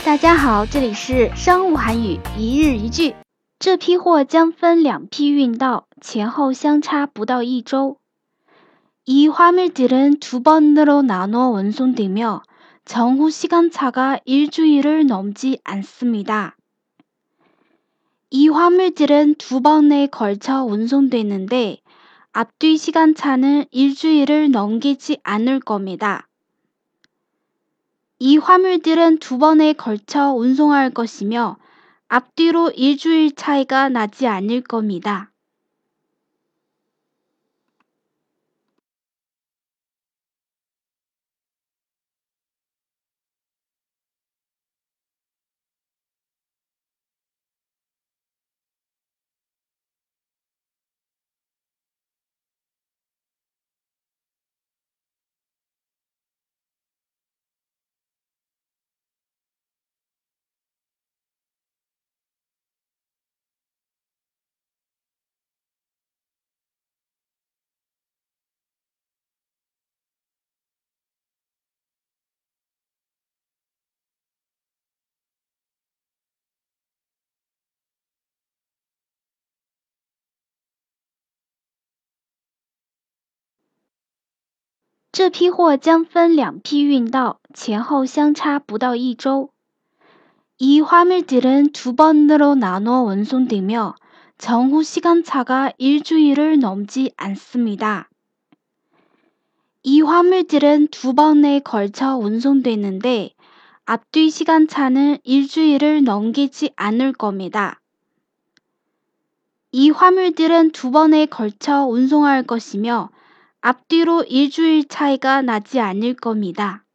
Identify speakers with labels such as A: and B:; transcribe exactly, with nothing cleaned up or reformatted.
A: 大家好，这里是商务韩语一日一句。这批货将分两批运到，前后相差不到一周。이 화물들은 두 번으로 나눠 운송되며 정후 시간차가 일주일을 넘지 않습니다. 이 화물들은 두 번에 걸쳐 운송되는데 앞뒤 시간차는 일주일을 넘기지 않을 겁니다. 이 화물들은 두 번에 걸쳐 운송할 것이며 앞뒤로 일주일 차이가 나지 않을 겁니다. 这批货将分两批运到，前后相差不到一周。이 화물들은 두 번으로 나눠 운송되며 정후 시간차가 일주일을 넘지 않습니다. 이 화물들은 두 번에 걸쳐 운송되는데 앞뒤 시간차는 일주일을 넘기지 않을 겁니다. 이 화물들은 두 번에 걸쳐 운송할 것이며 앞뒤로 일주일 차이가 나지 않을 겁니다.